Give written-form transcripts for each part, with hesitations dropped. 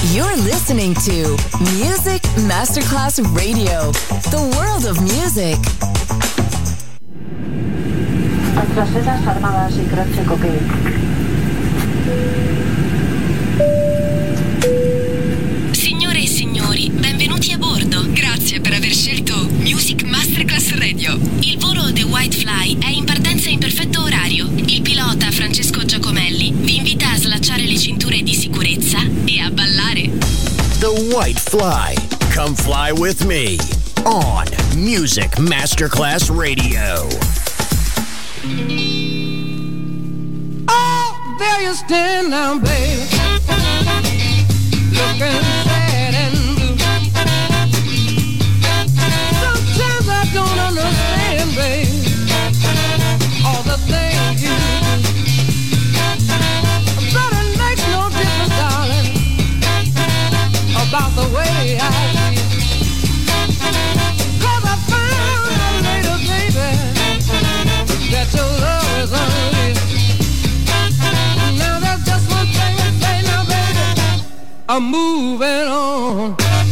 You're listening to Music Masterclass Radio, the world of music. Traseras armadas y croce coquet. Signore e signori, benvenuti a bordo. Grazie per aver scelto Music Masterclass Radio. Il volo The White Fly è in partenza in perfetto orario. Il pilota Francesco Giacomelli vi invita a slacciare le cinture di sicurezza e a ballare. The White Fly. Come fly with me on Music Masterclass Radio. Oh, there you stand now, baby, looking sad and blue. Sometimes I don't understand, baby, all the things you do. But it makes no difference, darling, about the way I feel. 'Cause I found out later, baby, that your love is unreal. Now there's just one thing to say now, baby, I'm moving on.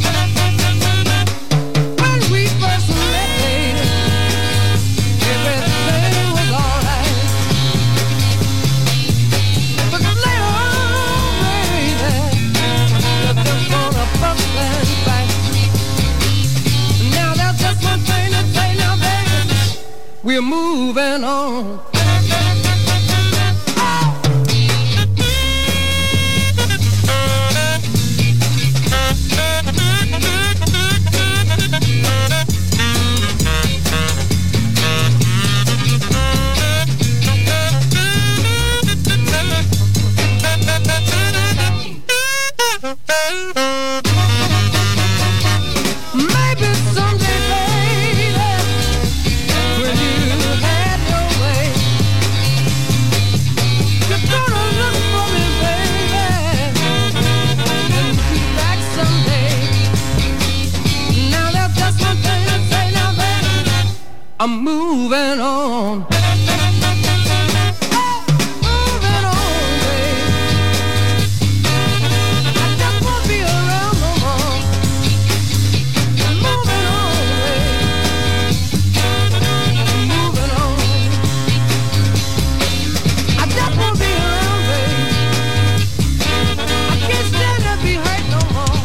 When we first met, baby, everything was alright. But later on, baby, you're just gonna fuss and fight. Now there's just one thing to say now, baby, we're moving on. Maybe someday, baby, when you have your way, you're gonna look for me, baby, and be back someday. Now there's just one thing to say now, baby, I'm moving on. Moving on, baby. I just won't be around no more. Moving on, baby. Moving on. I just won't be around, baby. I can't stand to be hurt no more.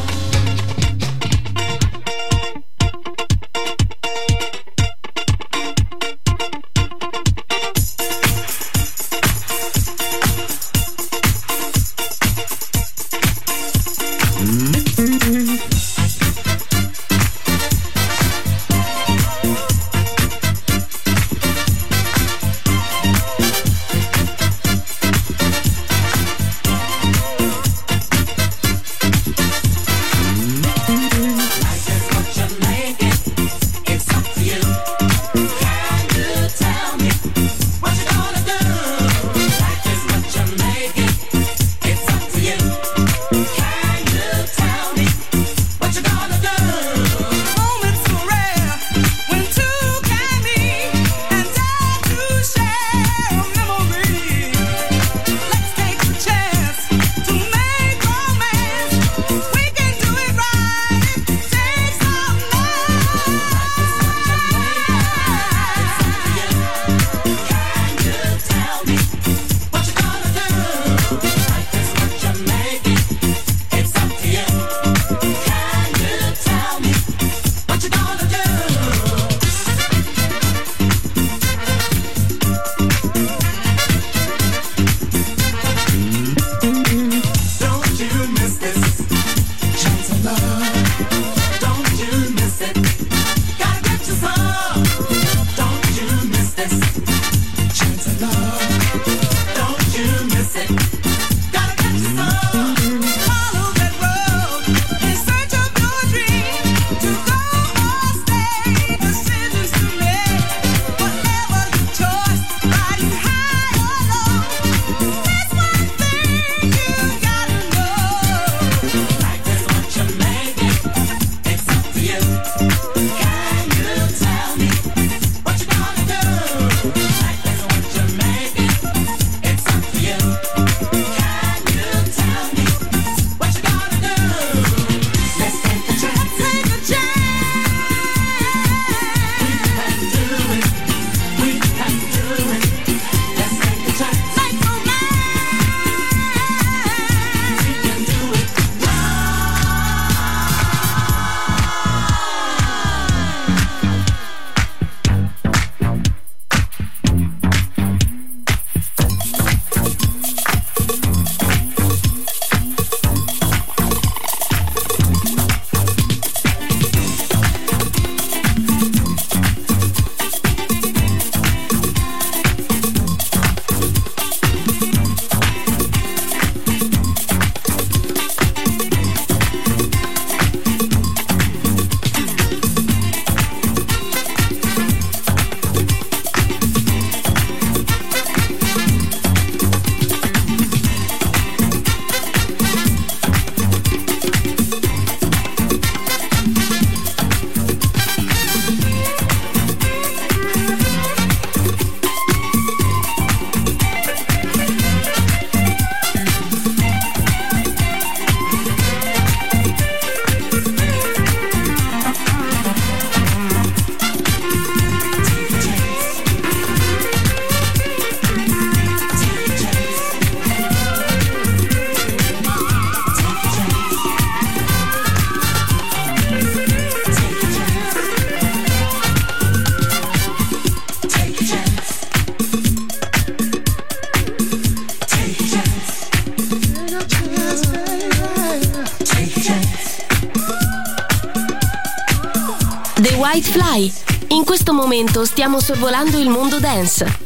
White Fly. In questo momento stiamo sorvolando il mondo dance.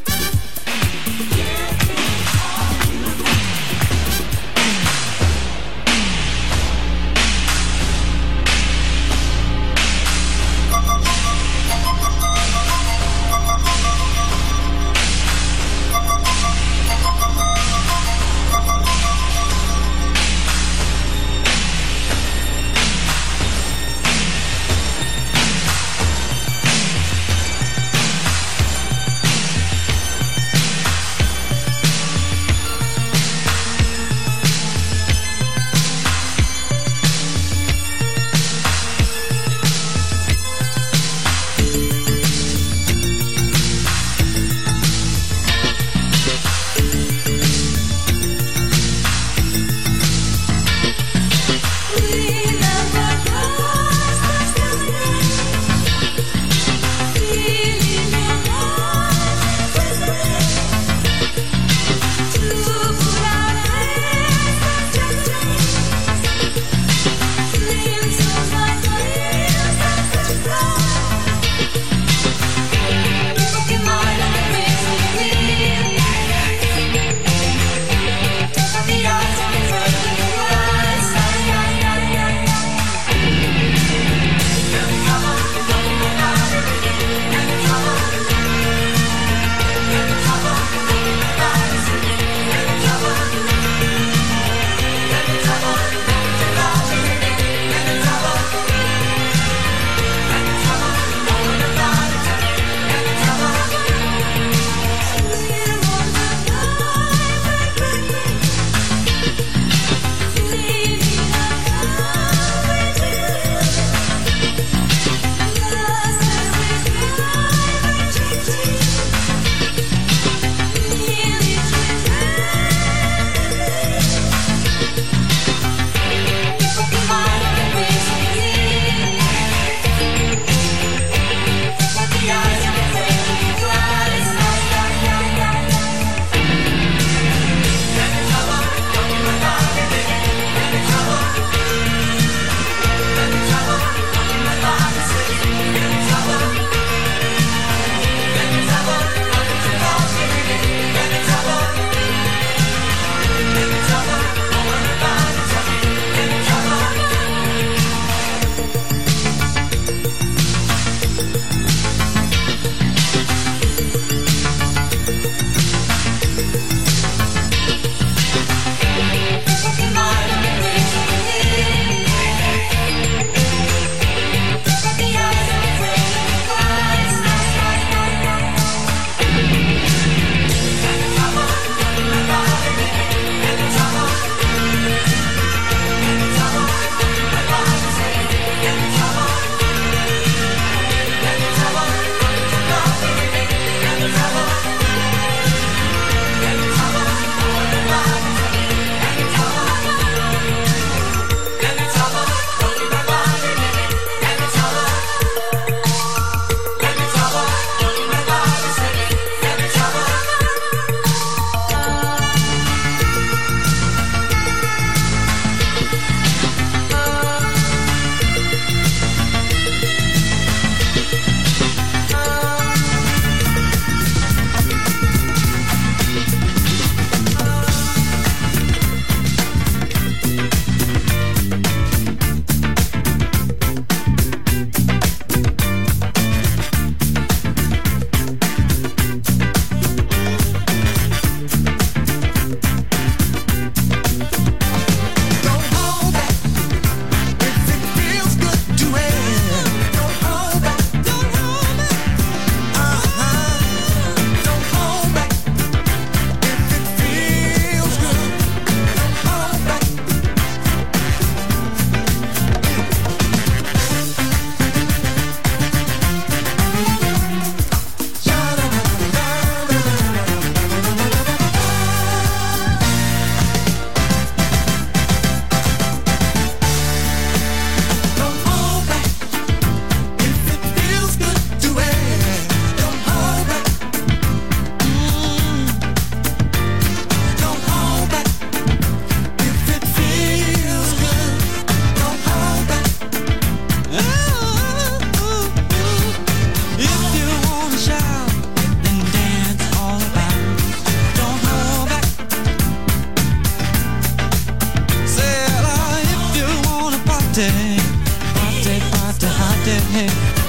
party, party, party, party.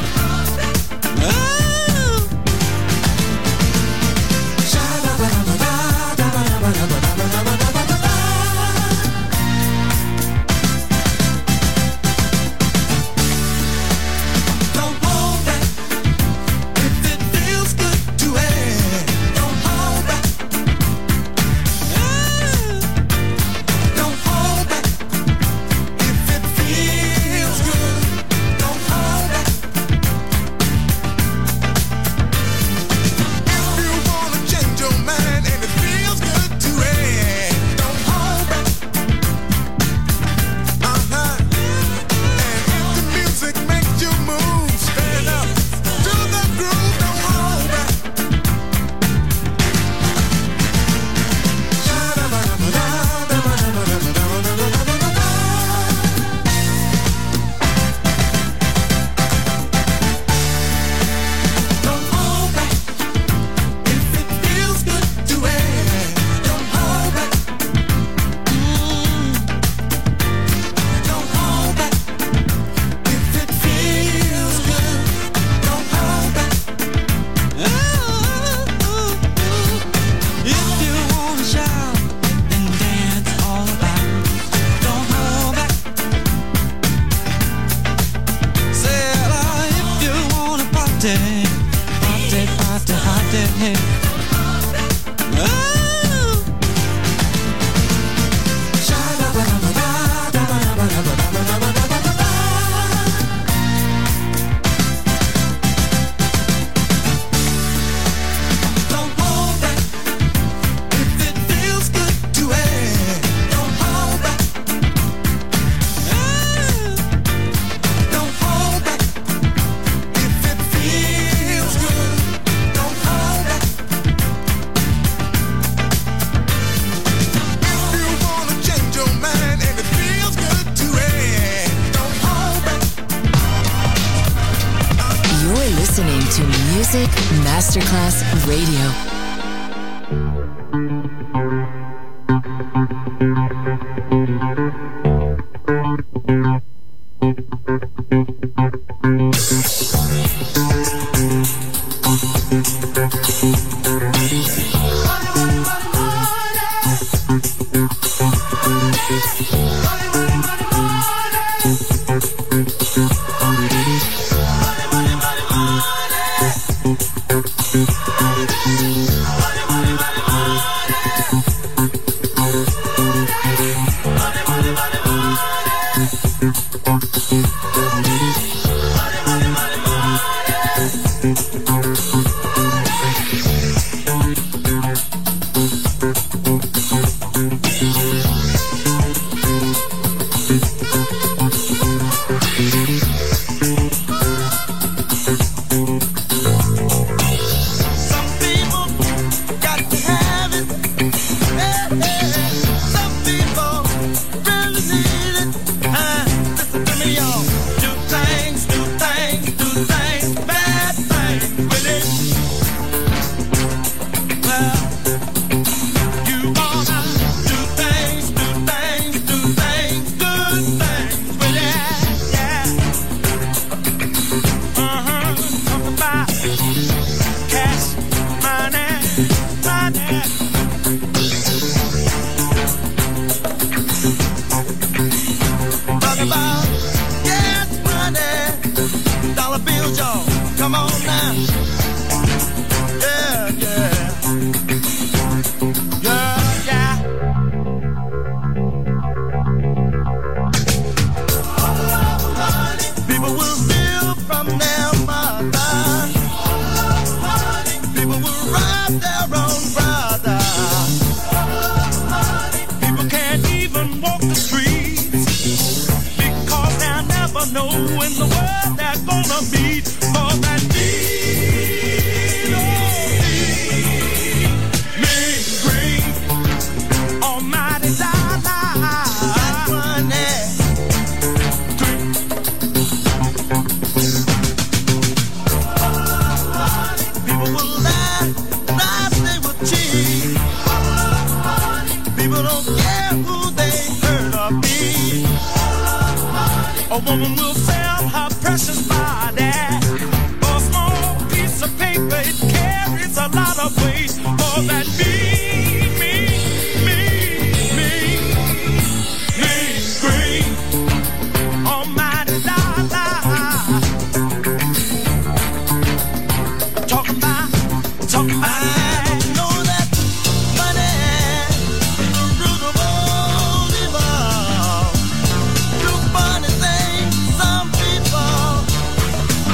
Music Masterclass Radio. Know in the world they're gonna meet for that. A woman will sell her precious body for a small piece of paper. It carries a lot of weight for that great almighty dollar. Talk about. I know that money is the root of all evil. Do funny things, some people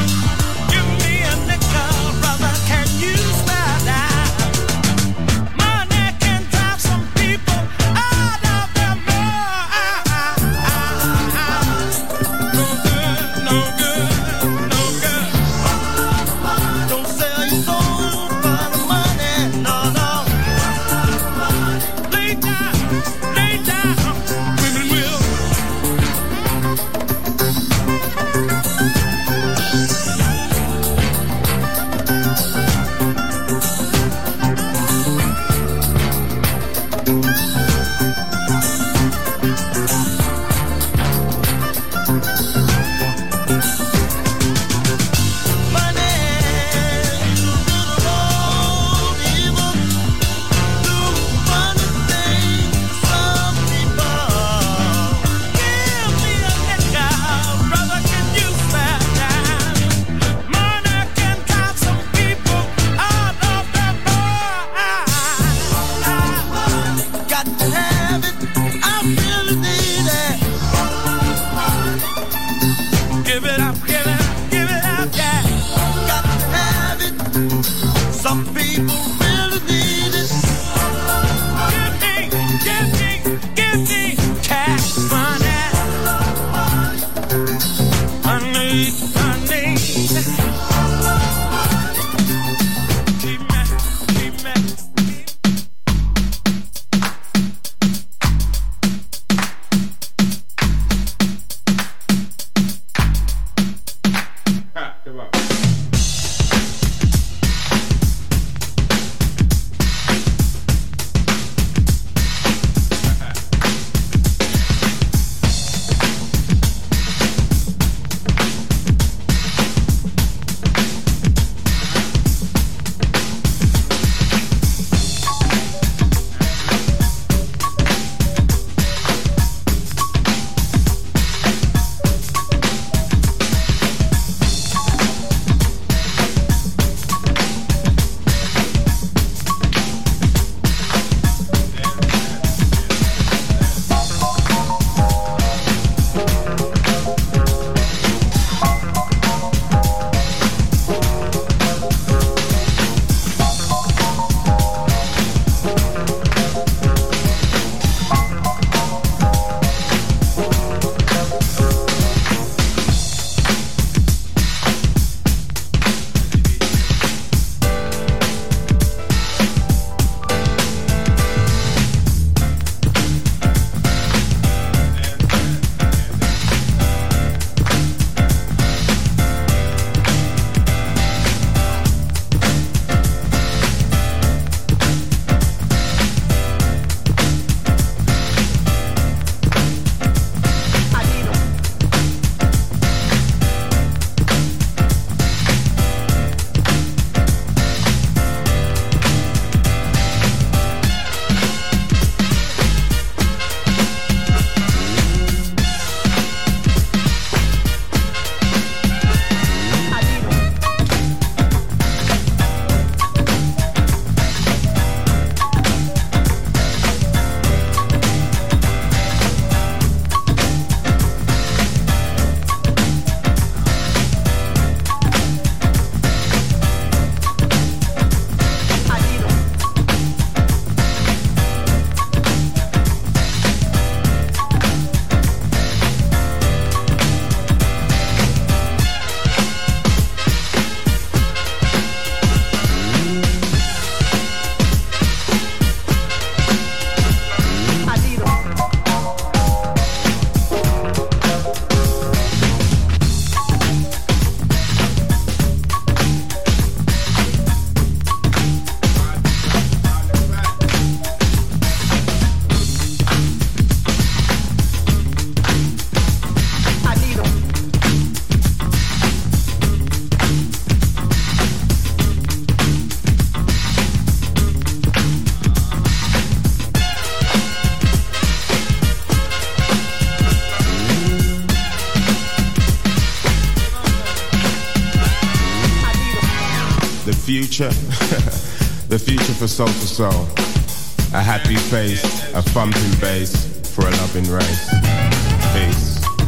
future, the future for soul to soul. A happy face, a thumping bass for a loving race. Peace.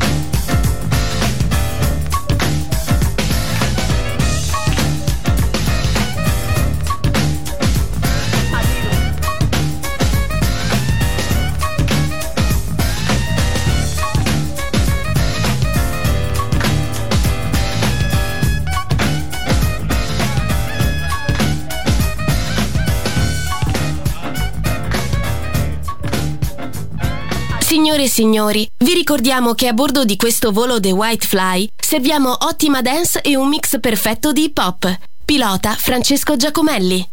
Signore e signori, vi ricordiamo che a bordo di questo volo The White Fly serviamo ottima dance e un mix perfetto di hip hop. Pilota Francesco Giacomelli.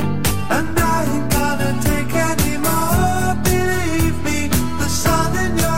And I ain't gonna take any more. Believe me, the sun in your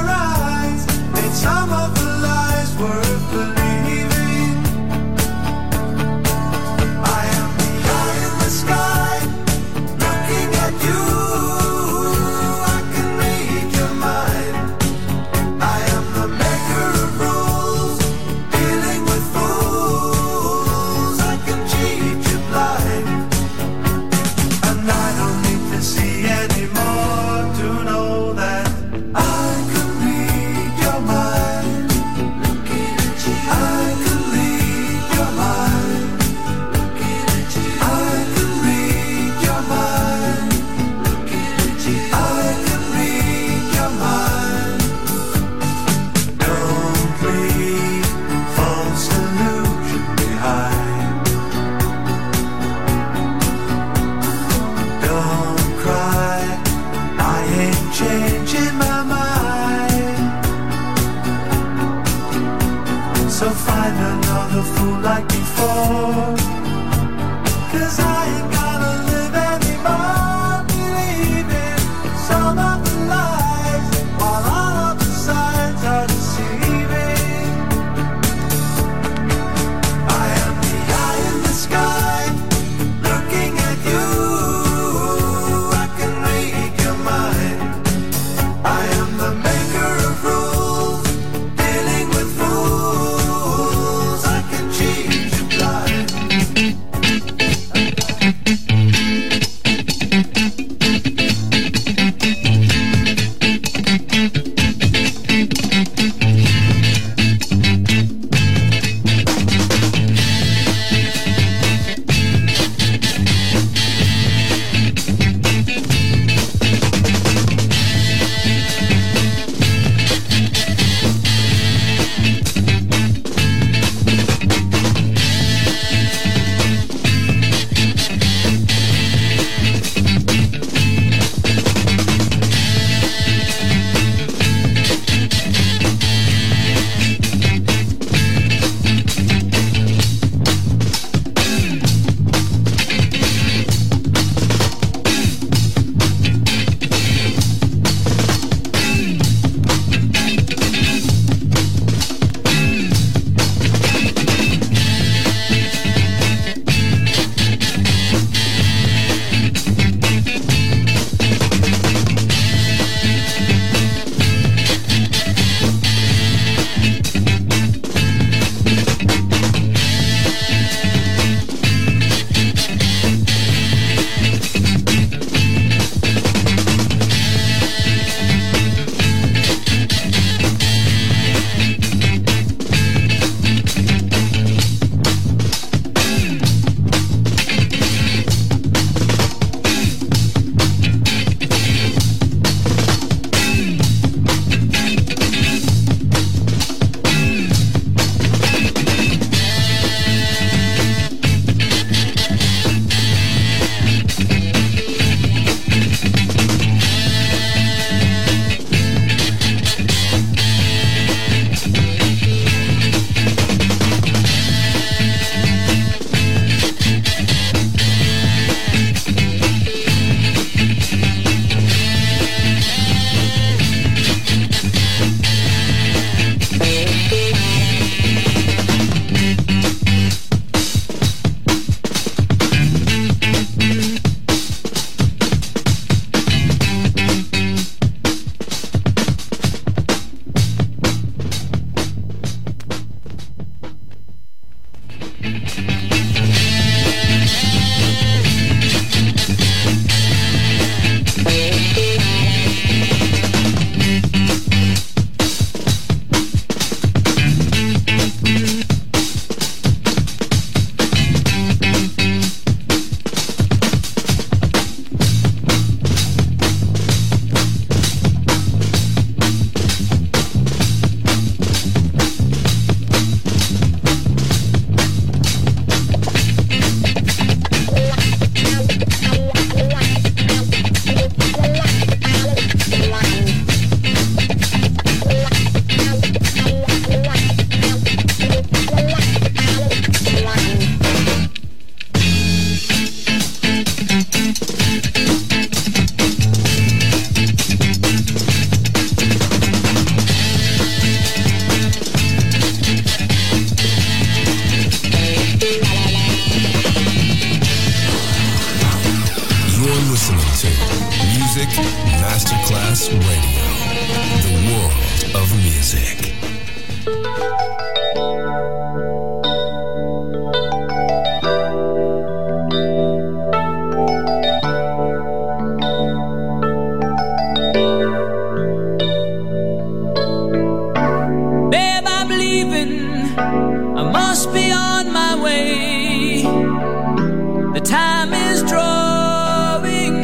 I must be on my way. The time is drawing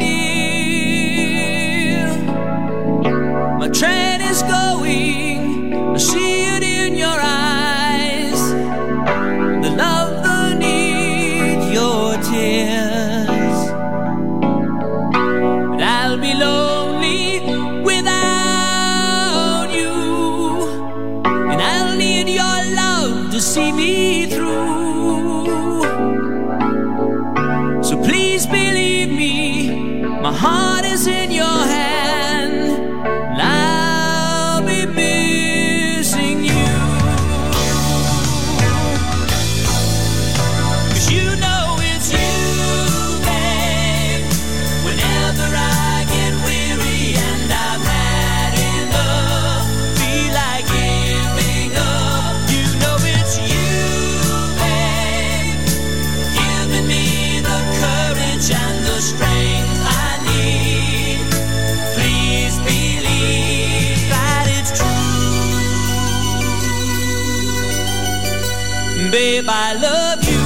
near. My train is going, I see it in your eyes. The love, the need, your tears. But I'll be lonely without you, and I'll need your love to see me through. So please believe me, my heart is in your hand, and I'll be missing you. 'Cause you know it's you, babe. Whenever I get weary and I've had enough, feel like giving up, you know it's you, babe, giving me the courage and the strength I need. Please believe that it's true. Babe, I love you.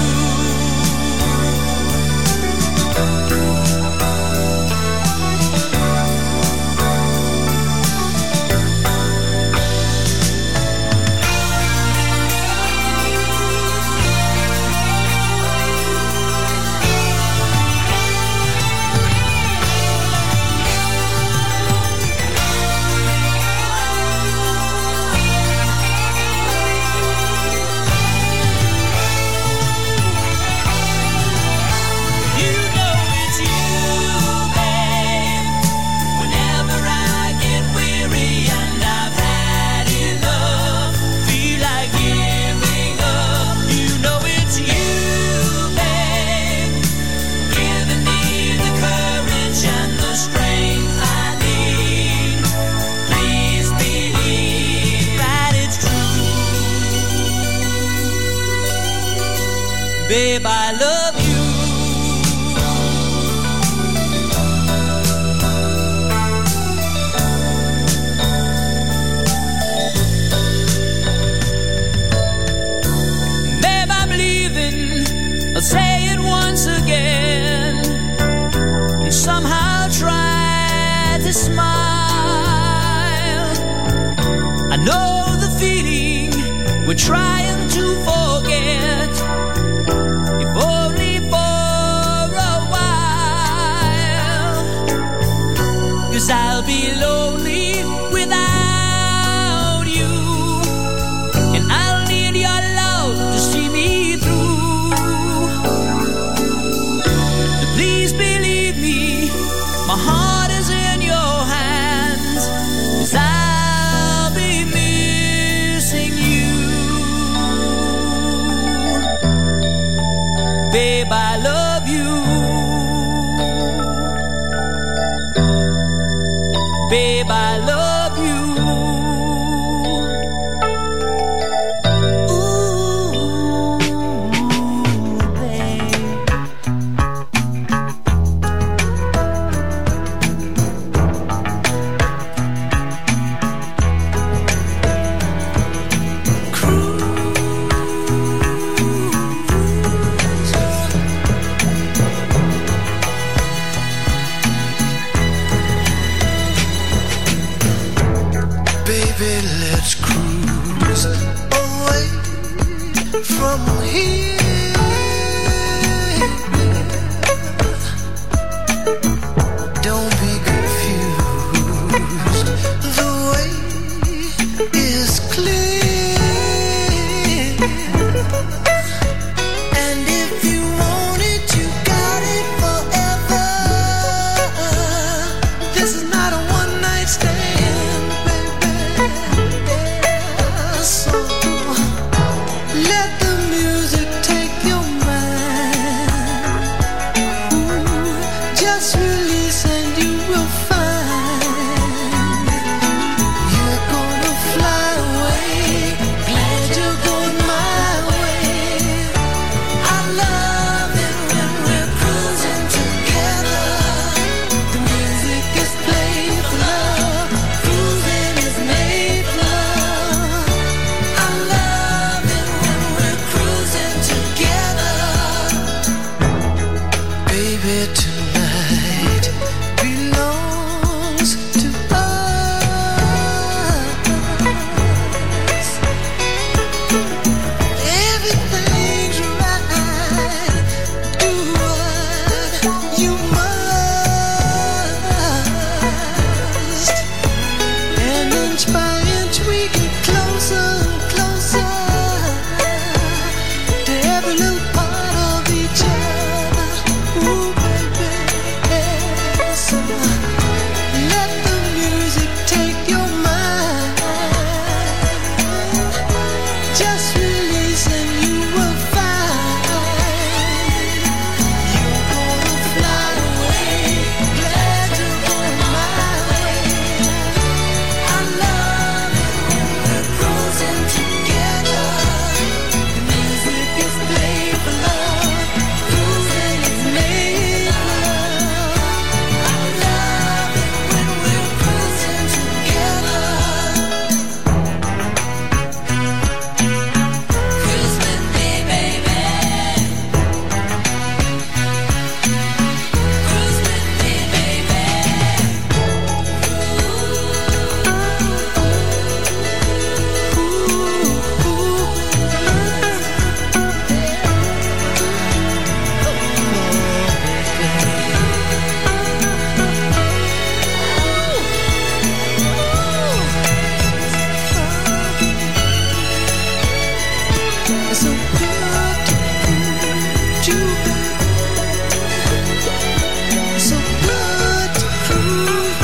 You know it's you, babe. Whenever I get weary and I've had enough, feel like giving up, you know it's you, babe, giving me the courage and the strength I need. Please believe that it's true. Babe, I love you. Babe, I'm leaving. I'll say it once again, and somehow try to smile. I know the feeling we're trying to forget, if only for a while. 'Cause I'll be lonely without you, and I'll need your love to see me through. So please believe me, my heart is in your hands, 'cause I'll be missing you. Babe, I love you. Babe, I love you. Ooh, babe. Baby, let's cruise away from here. Don't be confused, the way is clear. And if you want it, you got it forever. This is not a one-night stand, baby. So let the music take inch by inch we get closer and closer to every little part of each other. Ooh, baby, so let the music take your mind. Just release and you will find you're gonna fly away. Glad you're going my way. I love it when we're cruising together. The music is played for love. Cruising is made for love. I love it when we're cruising together. Cruise with me, baby. Cruise with me, baby. It's so good to cruise you, baby. It's so good to cruise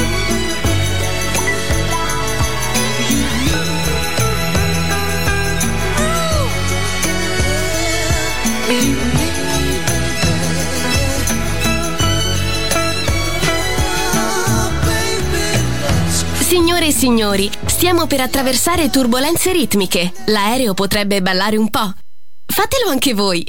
Signore e signori, stiamo per attraversare turbolenze ritmiche. L'aereo potrebbe ballare un po'. Fatelo anche voi.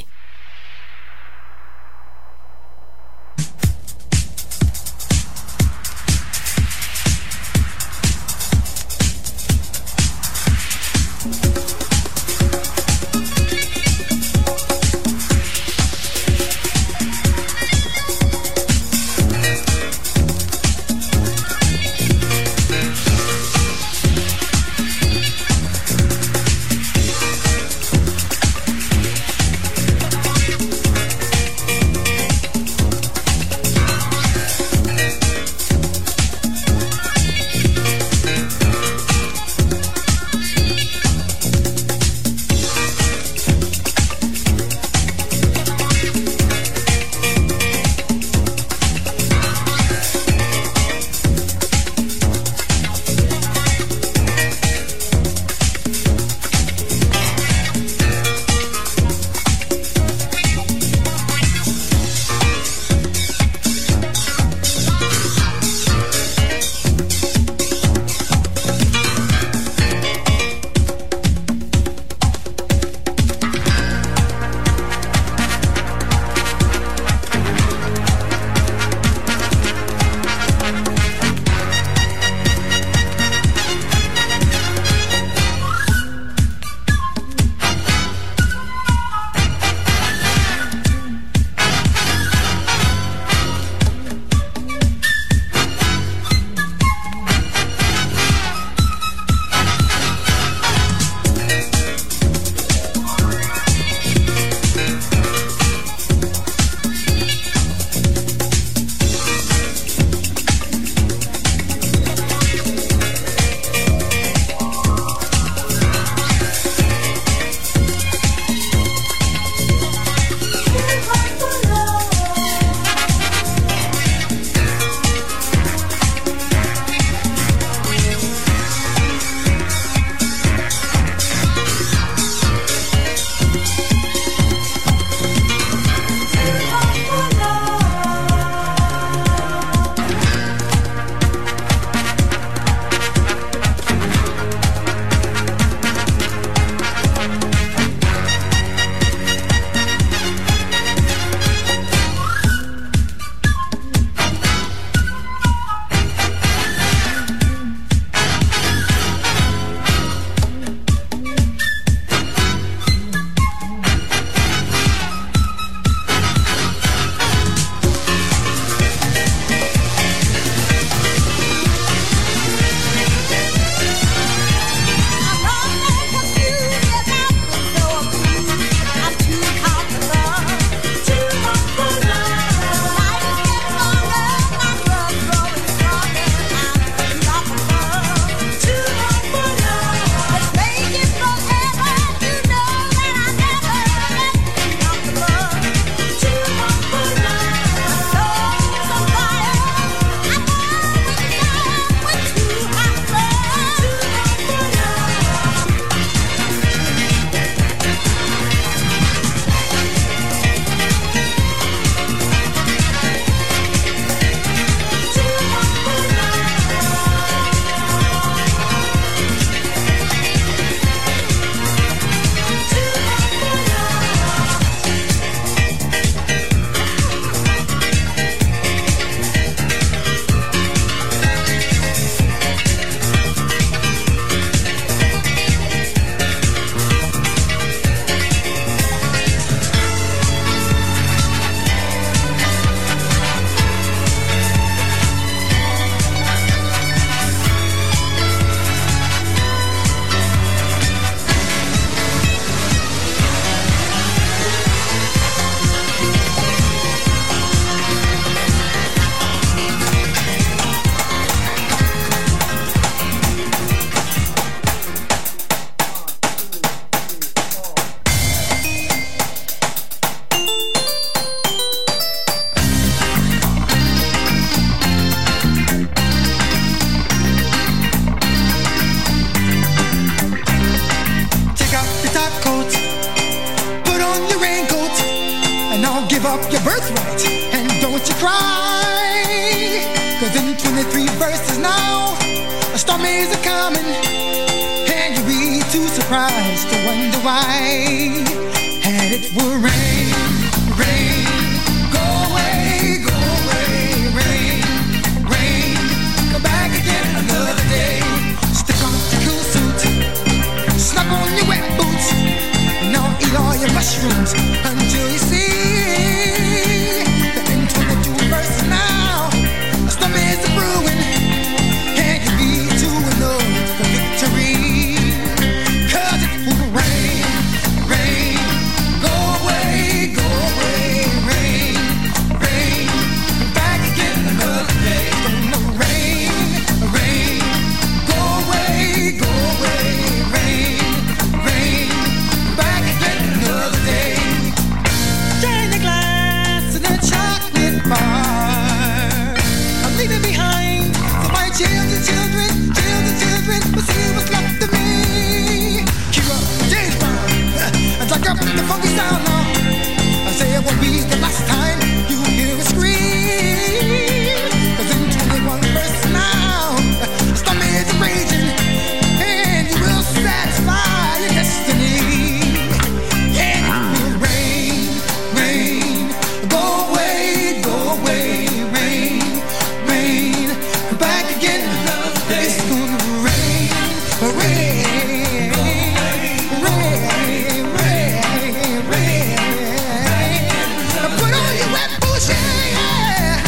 up your birthright and don't you cry. 'Cause in 23 verses now, a storm is a-coming, and you'll be too surprised to wonder why. And it will rain, rain, go away, rain, rain, come back again another day. Stick on your cool suit, snug on your wet boots, and now eat all your mushrooms until you see that in 22 verses now, a storm is a-brewing, and you'll be too alone for victory. 'Cause it will rain, rain, go away, rain, rain, come back again another day. Gonna rain, rain, go away, rain, rain, come back again another day. Drain the glass in a chocolate bar. I'm leaving behind for my children, children, but see what's left of me. Keep up, James Brown, and take up the funky sound now. I say it won't be the last time you hear a scream. 'Cause in 21 verses now, the storm is raging, and you will satisfy your destiny. Yeah, it will rain, rain, go away, rain, rain, come back again. It's gonna rain, rain, rain, rain, rain. Put on your wet boots, yeah.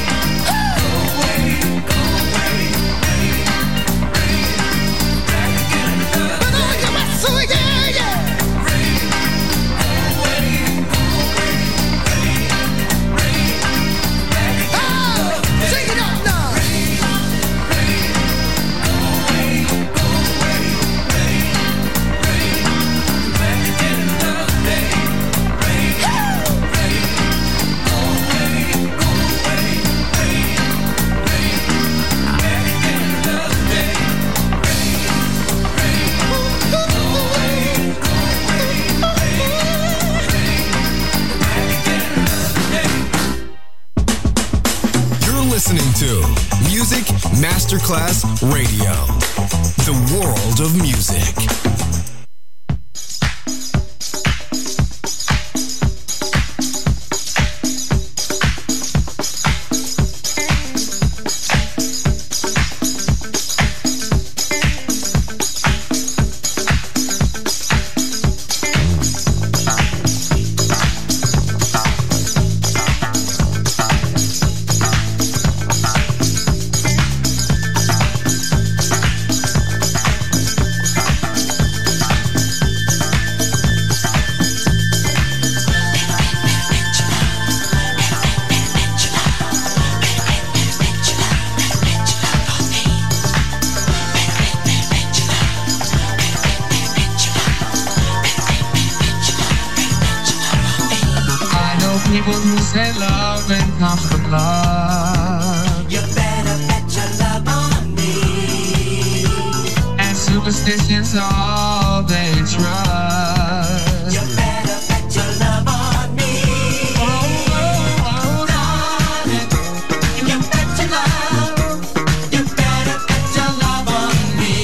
Put on your wet suit, yeah, yeah. Oh, sing it up now. You're listening to Music Masterclass Radio, the world of music. People who say love and comes from love. You better bet your love on me. And superstition's all they trust. You better bet your love on me. Darling, you bet your love. You better bet your love on me.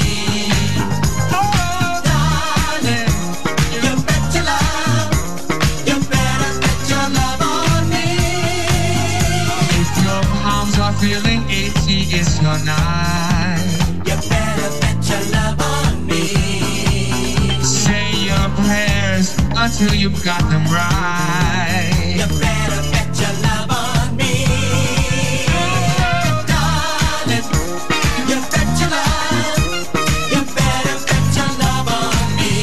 Darling, you bet your love. You better bet your love on me. If your arms are feeling itchy, it's your night. You better bet your love on me. Say your prayers until you've got them right. You better bet your love on me. Darling, you bet your love. You better bet your love on me.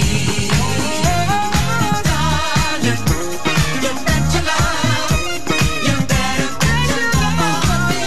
Darling, you bet your love. You better bet your love on me.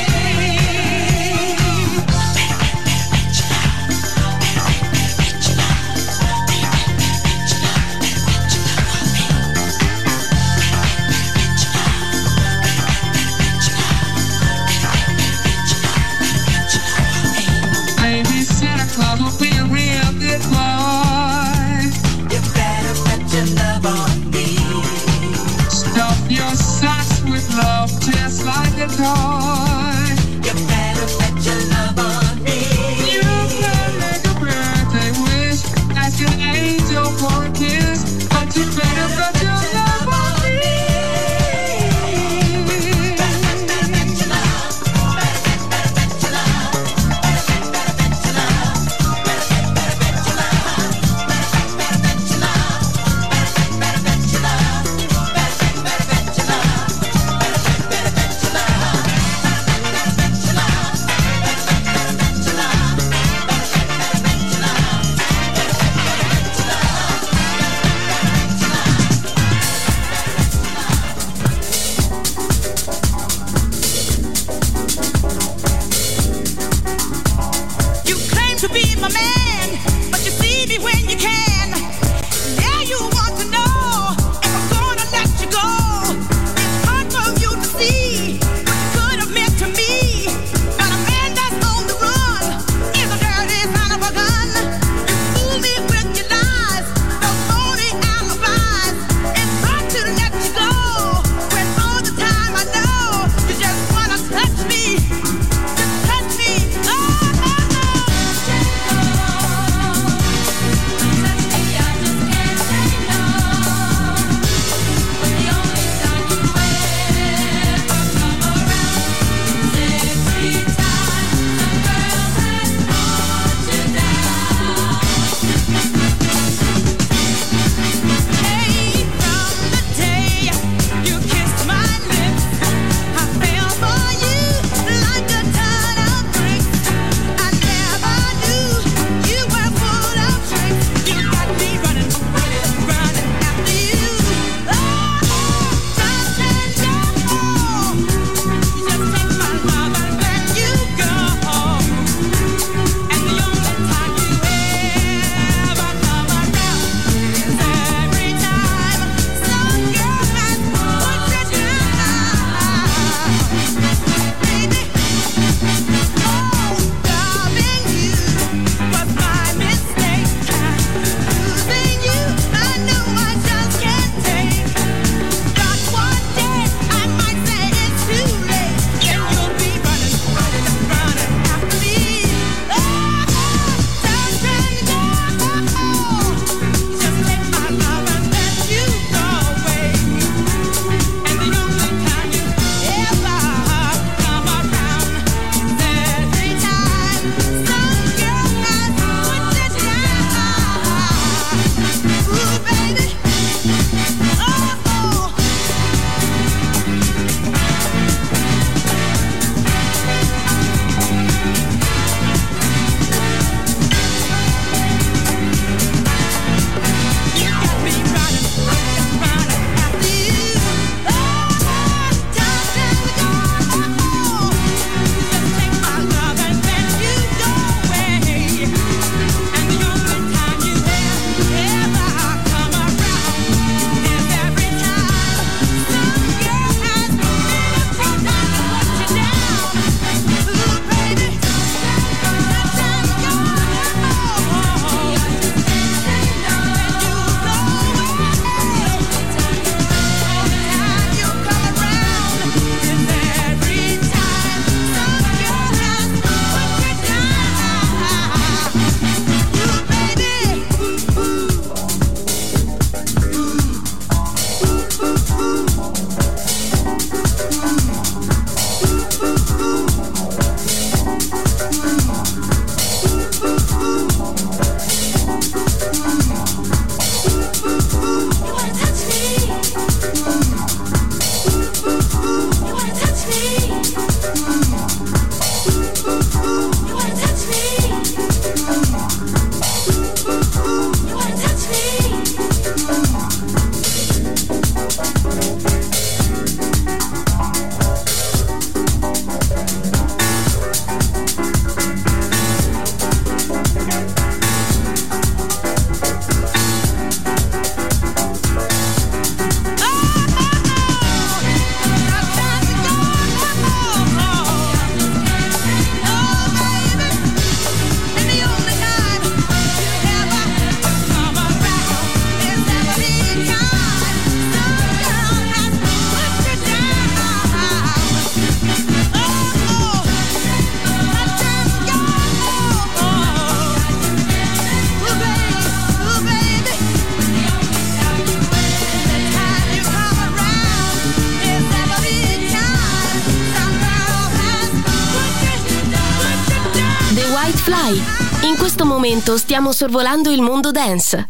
Fly. In questo momento stiamo sorvolando il mondo dance.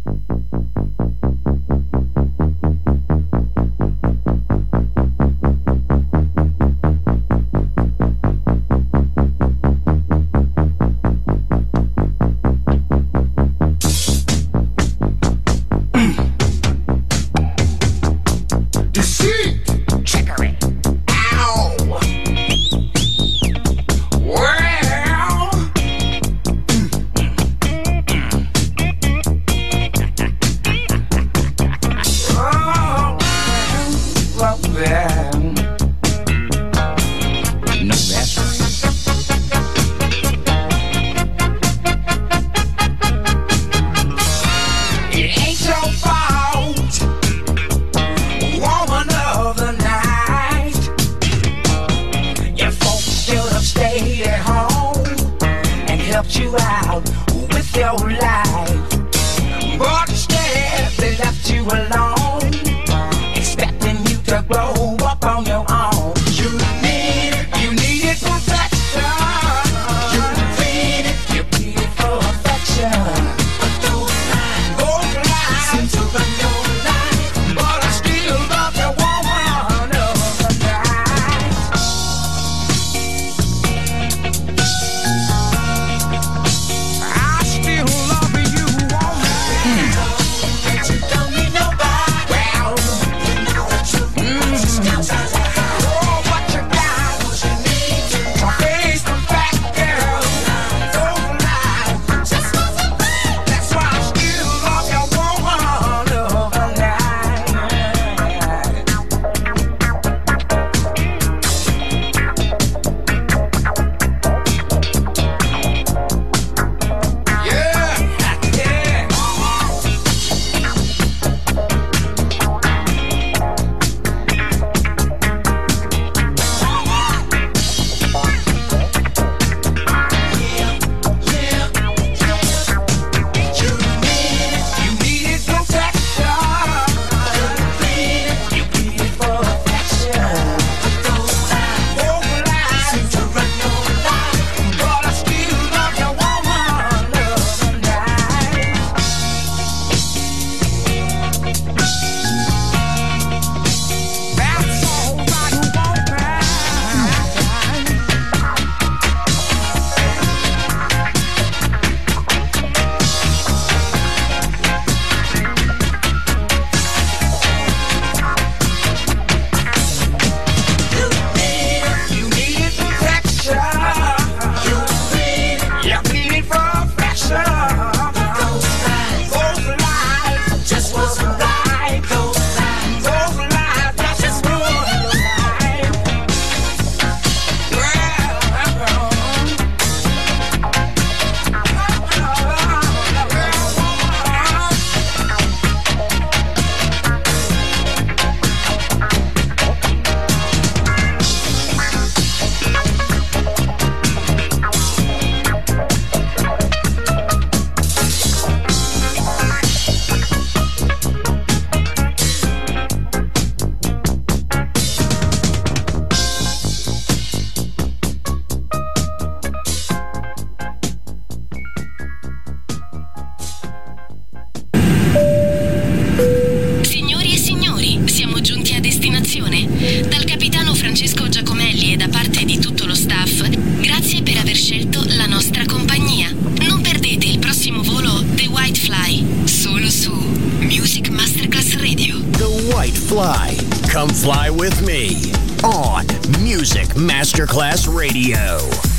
Dal capitano Francesco Giacomelli e da parte di tutto lo staff, grazie per aver scelto la nostra compagnia. Non perdete il prossimo volo The White Fly, solo su Music Masterclass Radio. The White Fly. Come fly with me on Music Masterclass Radio.